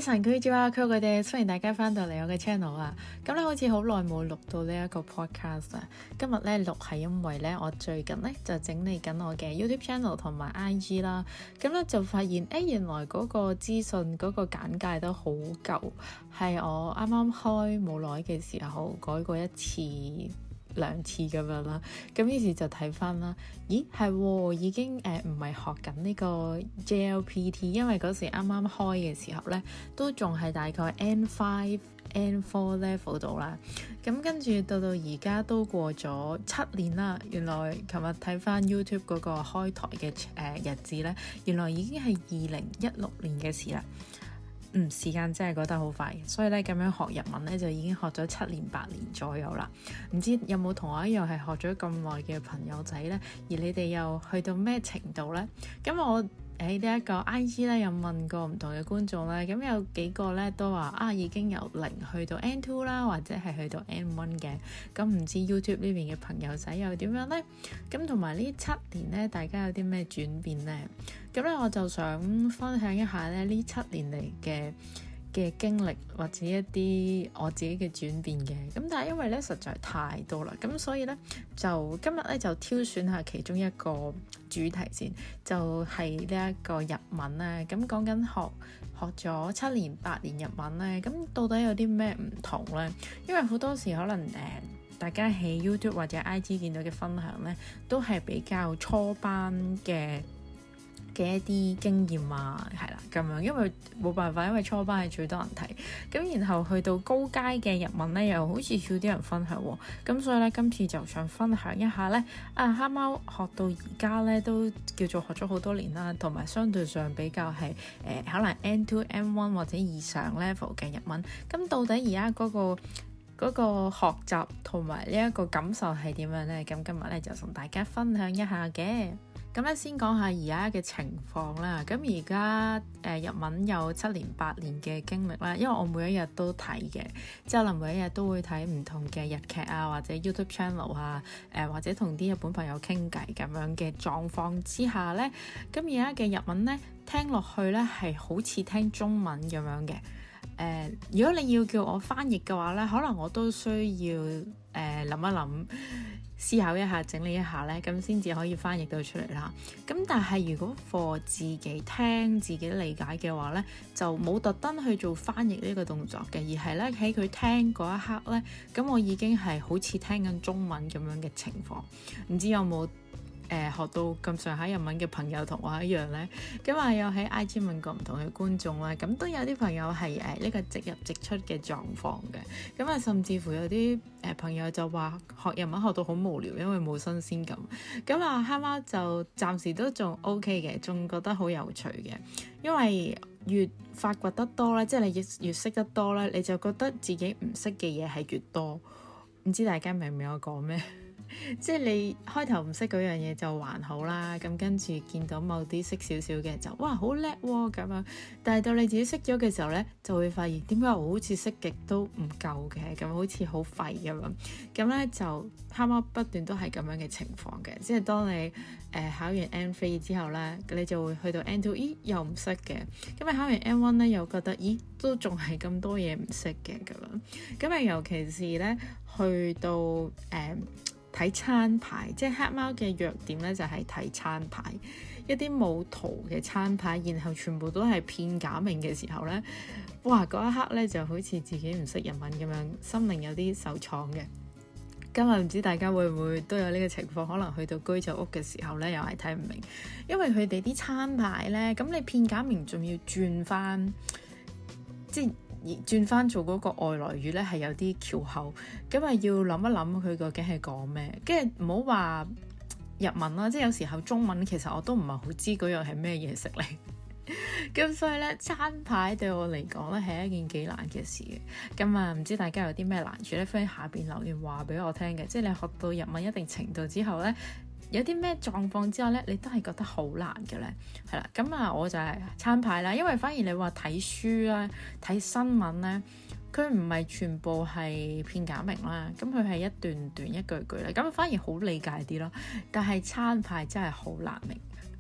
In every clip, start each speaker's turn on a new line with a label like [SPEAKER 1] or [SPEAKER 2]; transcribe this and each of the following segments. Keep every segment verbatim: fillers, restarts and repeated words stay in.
[SPEAKER 1] 晨佢叫啊，佢佢哋歡迎大家翻到嚟我嘅 channel 啊。咁咧好似好耐冇錄到呢一個 podcast 啊。今日咧錄係因為咧我最近咧就整理緊我嘅 YouTube channel 同埋 I G 啦。咁咧就發現誒原來嗰個資訊嗰個簡介都好舊，係我啱啱開冇耐嘅時候改過一次兩次咁樣啦，咁於是就睇翻啦，咦係已經誒唔係學緊呢個 J L P T， 因為嗰時啱啱開嘅時候咧，都仲係大概 N 五、N 四 level 度啦。咁跟住到到而家都過咗七年啦，原來琴日睇翻 YouTube 嗰個開台嘅誒、呃、日子咧，原來已經係二零一六年嘅事啦。嗯，時間真係過得好快，所以咧咁樣學日文咧就已經學咗七年八年左右啦。唔知有冇同我一樣係學咗咁耐嘅朋友仔呢？而你哋又去到咩程度呢？咁我喺呢一個 I G 咧有問過唔同嘅觀眾咧，咁有幾個咧都話啊已經由零去到 N 二 啦，或者係去到 N 一嘅。咁唔知 YouTube 呢邊嘅朋友仔又點樣呢？咁同埋呢七年咧，大家有啲咩轉變呢？咁咧我就想分享一下咧呢七年嚟嘅嘅經歷，或者一啲我自己嘅轉變嘅。咁但係因為咧實在太多啦，咁所以咧就今日咧就挑選下其中一個主題先，就係呢一個日文咧。咁講緊學學咗七年八年日文咧，咁到底有啲咩唔同咧？因為好多時可能誒、呃、大家喺 YouTube 或者 I G 見到嘅分享咧，都係比較初班嘅嘅一啲經驗啊，係啦咁樣，因為冇辦法，因為初班係最多人睇，咁然後去到高階嘅日文咧，又好似少啲人分享喎，咁所以咧今次就想分享一下咧，啊黑貓學到而家咧都叫做學咗好多年啦，同埋相對上比較係誒、呃、可能 N 二、N 一或者以上 level 嘅日文，咁到底而家嗰個嗰、嗰個學習同埋呢一個感受係點樣咧？咁今日咧就同大家分享一下嘅。咁咧先講下而家嘅情況啦。咁而家誒日文有七年八年嘅經歷啦，因為我每一日都睇嘅，即係可能每一日都會睇唔同嘅日劇啊，或者 YouTube channel 啊，誒、呃、或者同啲日本朋友傾偈咁樣嘅狀況之下咧，咁而家嘅日文咧聽落去咧係好似聽中文咁樣嘅。誒、呃，如果你要叫我翻譯嘅話咧，可能我都需要誒諗、呃、一諗。思考一下，整理一下咧，咁先至可以翻譯到出嚟啦。咁但係如果 for 自己聽、自己理解嘅話咧，就冇特登去做翻譯呢個動作嘅，而係咧喺佢聽嗰一刻咧，咁我已經係好似聽緊中文咁樣嘅情況。唔知有冇？誒、呃、學到咁上下日文嘅朋友同我一樣呢？咁啊有喺 I G 問過唔同嘅觀眾啦，咁都有啲朋友係誒呢個直入直出嘅狀況嘅，咁啊甚至乎有啲誒、呃、朋友就話學日文學到好無聊，因為冇新鮮感。咁啊黑貓就暫時都仲 OK 嘅，仲覺得好有趣嘅，因為越發掘得多咧，即係你越越識得多咧，你就覺得自己唔識嘅嘢係越多。唔知大家明唔明我講咩？即係你開頭唔識嗰樣嘢就還好啦，咁跟住見到某啲識少少嘅就哇好叻喎咁樣，但係到你自己識咗嘅時候呢，就會發現點解我好似識極都唔夠嘅，咁好似好廢咁樣，咁呢就黑貓不斷都係咁樣嘅情況嘅，即係當你誒、呃、考完 N 三之後呢，你就會去到 N 二，咦又唔識嘅，咁你考完 N 一呢，又覺得咦都仲係咁多嘢唔識嘅咁樣，咁啊尤其是呢，去到誒。呃睇餐牌，即係黑貓嘅弱點咧，就係、是、睇餐牌，一啲冇圖嘅餐牌，然後全部都係片假名嘅時候咧，哇！嗰一刻咧就好似自己唔識日文咁樣，心靈有啲受創嘅。今日唔知大家會唔會都有呢個情況？可能去到居酒屋嘅時候咧，又係睇唔明，因為佢哋啲餐牌咧，咁你片假名仲要轉翻，即係。而轉翻做嗰個外來語咧，係有啲翹口，咁啊要諗一諗佢究竟係講咩，跟住唔好話日文啦，即係有時候中文其實我都唔係好知嗰樣係咩嘢食嚟，咁所以咧餐牌對我嚟講咧係一件幾難嘅事嘅，咁啊唔知大家有啲咩難處咧，歡迎下邊留言話俾我聽嘅，即係你學到日文一定程度之後咧。有啲咩狀況之下咧，你都係覺得好難嘅咧，係啦，咁啊我就係餐牌啦，因為反而你話睇書啦、睇新聞咧，佢唔係全部係片假名啦，咁佢係一段段一句句咧，咁反而好理解啲咯。但係餐牌真係好難明，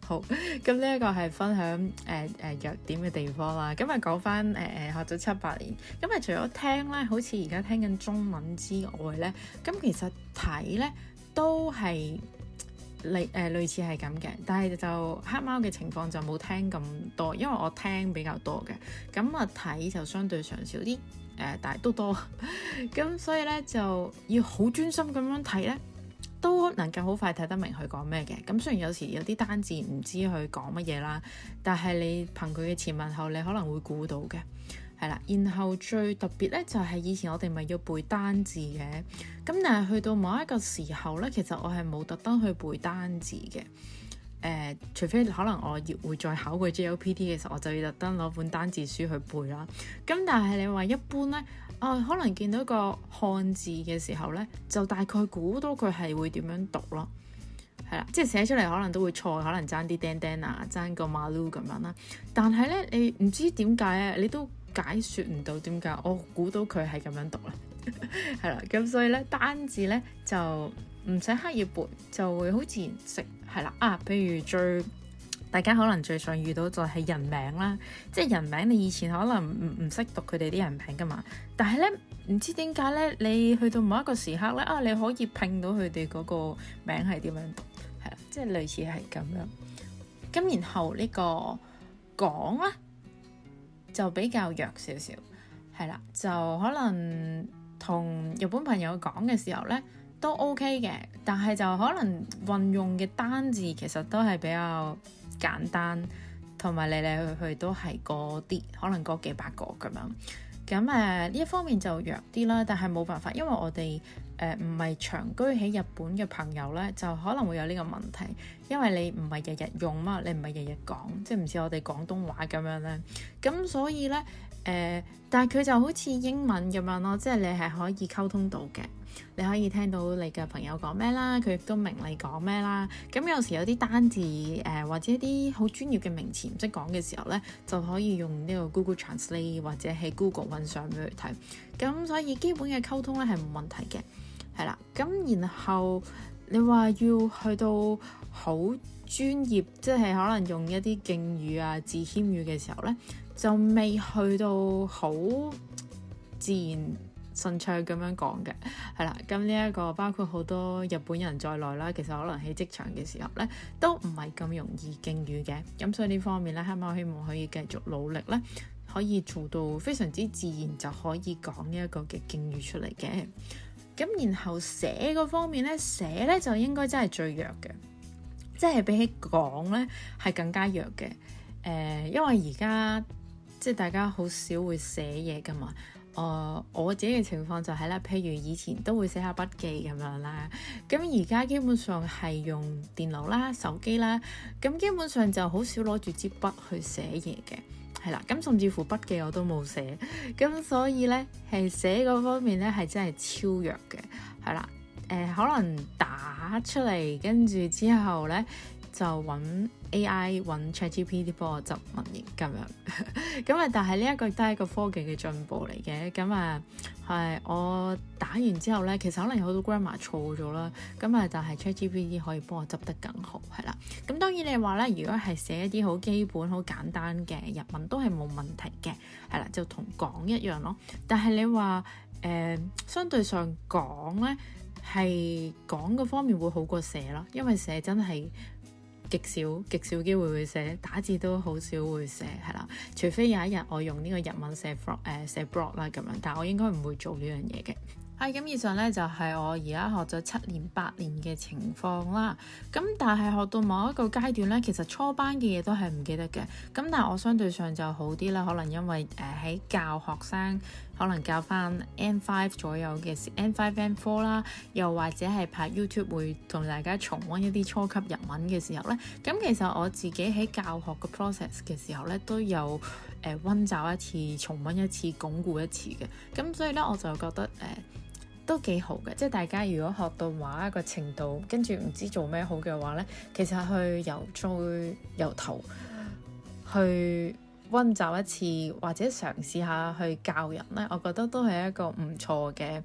[SPEAKER 1] 好，咁呢一個係分享誒誒、呃呃、弱點嘅地方啦。咁啊講翻誒誒學咗七八年，咁啊除咗聽咧，好似而家聽緊中文之外咧，咁其實睇咧都係類誒類似係咁嘅，但係就黑貓嘅情況就冇聽咁多，因為我聽比較多嘅，咁啊睇就相對上少啲，誒、呃、但係都多，咁所以咧就要好專心咁樣睇咧，都能夠好快睇得明佢講咩嘅。咁雖然有時有啲單字唔知佢講乜嘢啦，但係你憑佢嘅前文後理可能會估到嘅，係啦。然後最特別咧就係、是、以前我哋咪要背單字嘅，咁但係去到某一個時候咧，其實我係冇特登去背單字嘅。誒、呃，除非可能我要會再考個 J L P T 嘅時候，我就要特登攞本單字書去背啦。咁但係你話一般咧，啊，可能見到個漢字嘅時候咧，就大概估到佢係會點樣讀咯，係啦，即係寫出嚟可能都會錯，可能爭啲釘釘啊，爭個馬路咁樣啦。但係咧，你唔知點解啊，你都解説唔到點解，我估到佢係咁樣讀啦，係啦。咁所以咧，單字咧就唔使刻意背，就會好自然識，係啦。啊，譬如最大家可能最常遇到就係人名啦，即係人名你以前可能唔唔識讀佢哋啲人名噶嘛，但係咧唔知點解咧，你去到某一個時刻咧，啊你可以拼到佢哋嗰個名係點樣讀，係啦，即係類似係咁樣。咁然後呢個講咧就比較弱少少，係啦，就可能同日本朋友講嘅時候咧都 OK 嘅，但係就可能運用嘅單字其實都係比較簡單，同埋嚟嚟去去都係嗰啲，可能嗰幾百個咁樣。咁誒呢一方面就弱啲啦，但係冇辦法，因為我哋誒唔係長居喺日本嘅朋友咧，就可能會有呢個問題，因為你唔係日日用嘛，你唔係日日講，即係唔似我哋廣東話咁樣咧。咁所以咧誒、呃，但係佢就好似英文咁樣咯，即係你係可以溝通到嘅。你可以聽到你嘅朋友講咩啦，佢亦都明你講咩啦。咁有時有啲單字誒、呃、或者一啲好專業嘅名詞唔識講嘅時候咧，就可以用呢個 Google Translate 或者喺 Google 揾相俾佢睇。咁所以基本嘅溝通咧係冇問題嘅，係啦。咁然後你話要去到好專業，即係可能用一啲敬語啊、字謙語嘅時候咧，就未去到好自然順暢咁樣講嘅，係啦。咁呢一個包括好多日本人在內啦，其實可能喺職場嘅時候咧，都唔係咁容易敬語嘅。咁所以呢方面咧，黑貓希望可以繼續努力咧，可以做到非常之自然就可以講呢一個嘅敬語出嚟嘅。咁然後寫嗰方面咧，寫咧就應該真係最弱嘅，即係比起講咧係更加弱嘅。誒、呃，因為而家即係大家好少會寫嘢噶嘛。誒、uh, 我自己嘅情況就係、是、咧，譬如以前都會寫下筆記咁樣啦，咁而家基本上係用電腦啦、手機啦，咁基本上就好少攞住支筆去寫嘢嘅，係啦，咁甚至乎筆記我都冇寫，咁所以咧係寫嗰方面咧係真係超弱嘅，係啦，誒、呃、可能打出嚟跟住之後咧就揾 A I 揾 ChatGPT 幫我執文型咁樣，咁啊但係呢一個都係一個科技嘅進步嚟嘅，咁啊係我打完之後咧，其實可能有好多 grammar 錯咗啦，咁啊但係 ChatGPT 可以幫我執得更好，係啦，咁當然你話咧，如果係寫一啲好基本好簡單嘅日文都係冇問題嘅，係啦，就同講一樣咯，但係你話誒、呃、相對上講咧係講嘅方面會好過寫咯，因為寫真係極少極少機會會寫，打字都好少會寫，係啦，除非有一日我用呢個日文寫 blog 誒寫 blog 啦咁樣，但係我應該唔會做呢樣嘢嘅。係咁，以上咧就係、是、我而家學咗七年八年嘅情況啦。咁但係學到某一個階段咧，其實初班嘅嘢都係唔記得嘅。咁但係我相對上就好啲啦，可能因為誒喺、呃、教學生，可能教翻 N 五 左右嘅 N 五 N 四啦，又或者係拍 YouTube 會同大家重溫一啲初級日文嘅時候咧，咁其實我自己喺教學嘅 process 嘅時候咧，都有誒溫習一次、重溫一次、鞏固一次嘅。咁所以咧，我就覺得誒。呃都幾好嘅，即係大家如果學到某一個程度，跟住唔知做咩好嘅話呢，其實去由最由頭去溫習一次，或者嘗試下去教人呢，我覺得都係一個唔錯嘅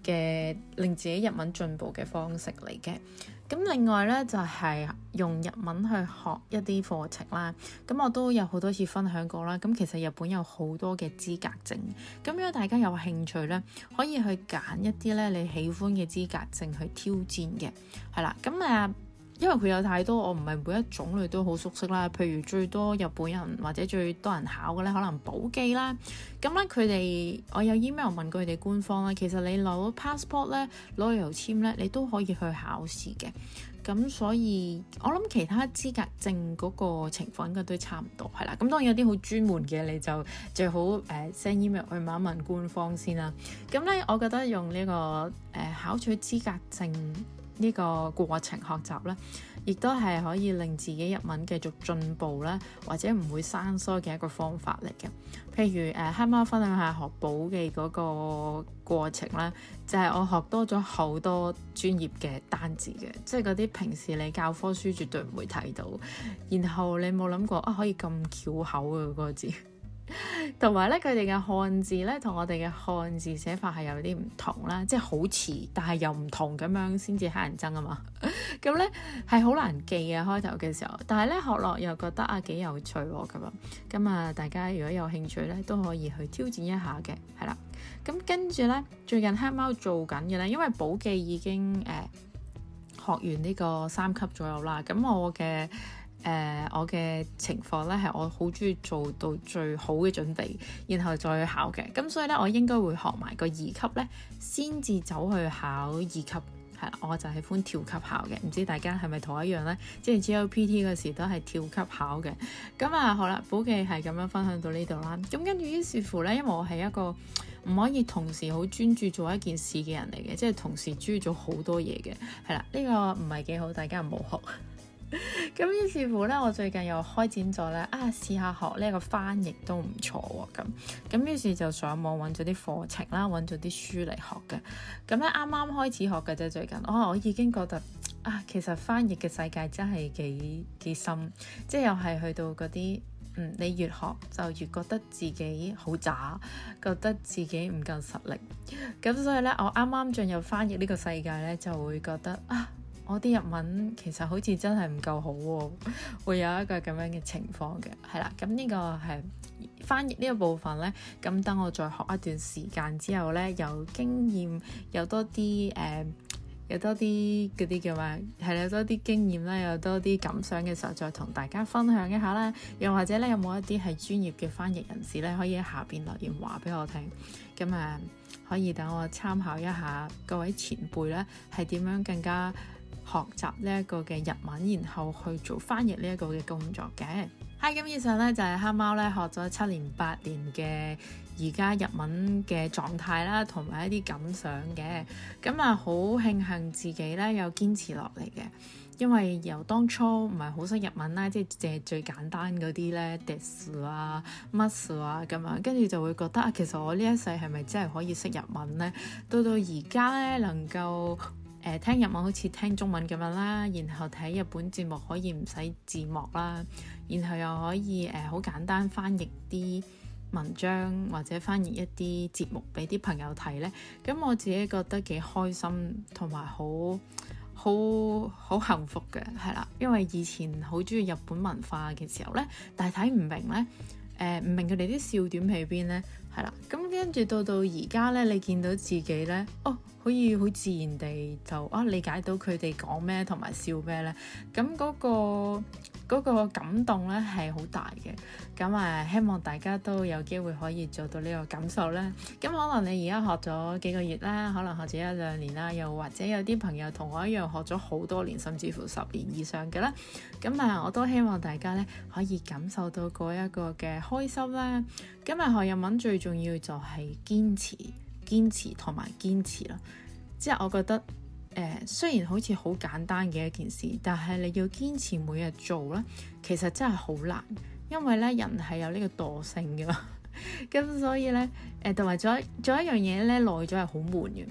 [SPEAKER 1] 嘅令自己日文進步嘅方式嚟嘅。咁另外咧就係、是、用日文去學一啲課程啦。咁我都有好多次分享過啦。咁其實日本有好多嘅資格證。咁如果大家有興趣咧，可以去揀一啲咧你喜歡嘅資格證去挑戰嘅。係啦，咁誒，因為佢有太多，我唔係每一種類都好熟悉啦。譬如最多日本人或者最多人考嘅咧，可能保記啦。咁咧佢哋，我有 email 問過佢哋官方啦。其實你攞 passport 咧，攞旅遊簽咧，你都可以去考試嘅。咁所以我諗其他資格證嗰個情況應該都差唔多，係啦。咁當然有啲好專門嘅，你就最好誒 send email 去問一問官方先啦。咁咧，我覺得用呢、這個誒、呃、考取資格證呢個過程學習咧，亦都係可以令自己日文繼續進步啦，或者唔會生疏嘅一個方法嚟嘅。譬如誒黑貓分享下學保記嗰個過程啦，就係、是、我學多咗好多專業嘅單字嘅，即係嗰啲平時你教科書絕對唔會睇到，然後你冇諗過啊可以咁翹口嘅嗰個字。同埋咧，佢哋嘅漢字咧，同我哋嘅漢字寫法係有啲唔同啦，即係好似，但係又唔同咁樣，先至乞人憎啊嘛。咁咧係好難記啊，開頭嘅時候，但係咧學落又覺得啊幾有趣喎咁啊。咁啊，大家如果有興趣咧，都可以去挑戰一下嘅，係啦。咁跟住咧，最近黑貓做緊嘅咧，因為保記已經誒、呃、學完呢個三級左右啦。咁我嘅誒、呃、我嘅情況咧係我好中意做到最好嘅準備，然後再去考嘅。咁所以咧，我應該會學埋個二級咧，先至走去考二級。係啦，我就喜歡跳級考嘅。唔知大家係咪同我一樣咧？即係 G L P T 嗰時都係跳級考嘅。咁啊，好啦，保記係咁樣分享到呢度啦。咁跟住於是乎咧，因為我係一個唔可以同時好專注做一件事嘅人嚟嘅，即係同時專注做好多嘢嘅。係啦，呢、這個唔係幾好，大家唔好學。咁於是乎咧，我最近又開展咗咧，啊試下學呢一個翻譯都唔錯喎。咁咁於是就上網揾咗啲課程啦，揾咗啲書嚟學嘅。咁咧啱啱開始學嘅啫，最近哦，我已經覺得啊，其實翻譯嘅世界真係幾幾深，即係又係去到嗰啲嗯，你越學就越覺得自己好渣，覺得自己唔夠實力。咁所以咧，我啱啱進入翻譯呢個世界咧，就會覺得啊。我啲日文其實好似真係唔夠好喎，會有一個咁樣嘅情況嘅，係啦。咁呢個係翻譯呢個部分呢。咁等我再學一段時間之後呢，有經驗，有多啲誒、呃，有多啲嗰啲叫咩？係有多啲經驗啦，有多啲感想嘅時候，再同大家分享一下啦。又或者呢，有冇一啲係專業嘅翻譯人士呢，可以喺下邊留言話俾我聽。咁啊，可以等我參考一下各位前輩呢，係點樣更加學習呢一個嘅日文，然後去做翻譯呢一個嘅工作嘅。係咁，以上咧就係黑貓咧學咗七年八年嘅而家日文嘅狀態啦，同埋一啲感想嘅。咁啊，好慶幸自己咧有堅持落嚟嘅，因為由當初唔係好識日文啦，即係淨係最簡單嗰啲咧，desu 啊、masu 啊咁樣，跟住就會覺得啊，其實我呢一世係咪真係可以識日文咧？到到而家咧能夠誒、呃、聽日文好似聽中文咁樣啦，然後睇日本節目可以唔使字幕啦，然後又可以誒好、呃、簡單翻譯啲文章或者翻譯一啲節目俾啲朋友睇呢。咁我自己覺得幾開心同埋好好好幸福嘅，係啦，因為以前好中意日本文化嘅時候呢，但係睇唔明呢，誒、呃、唔明佢哋啲笑點喺邊呢，係啦，咁跟住到到而家呢，你見到自己呢，哦，可以好自然地就啊理解到佢哋講咩同埋笑咩呢。咁嗰個嗰個感動呢係好大嘅。咁啊，希望大家都有機會可以做到呢個感受啦。咁可能你而家學咗幾個月啦，可能學咗一兩年啦，又或者有啲朋友同我一樣學咗好多年，甚至乎十年以上嘅啦。咁啊，我都希望大家呢可以感受到嗰一個嘅開心啦。咁啊，學日文最重要就係堅持。堅持同埋堅持啦，即係我覺得誒、呃，雖然好似好簡單嘅一件事，但係你要堅持每日做咧，其實真係好難，因為咧人係有呢個惰性嘅，咁所以咧誒，同埋做一做一樣嘢咧耐咗係好悶嘅，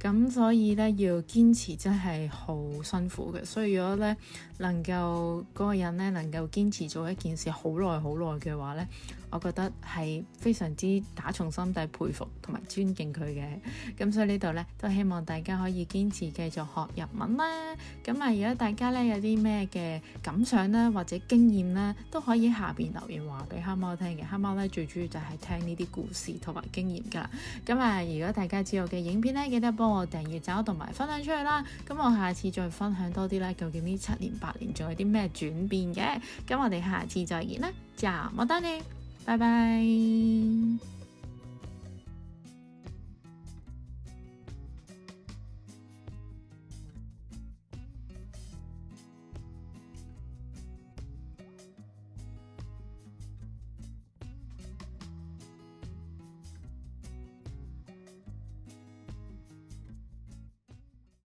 [SPEAKER 1] 咁所以咧要堅持真係好辛苦嘅。所以如果咧能夠嗰個人咧能夠堅持做一件事好耐好耐嘅話咧，我覺得係非常之打從心底佩服同埋尊敬佢嘅。咁所以呢度咧都希望大家可以堅持繼續學日文啦。咁啊，如果大家咧有啲咩嘅感想啦或者經驗啦，都可以喺下邊留言話俾黑貓聽嘅。黑貓咧最主要就係聽呢啲故事同埋經驗噶。咁啊，如果大家知道嘅影片咧，記得幫我訂閱、找同埋分享出去啦。咁我下次再分享多啲咧，究竟呢七年八年仲有啲咩轉變嘅？咁我哋下次再見啦，じゃあまたね。拜拜。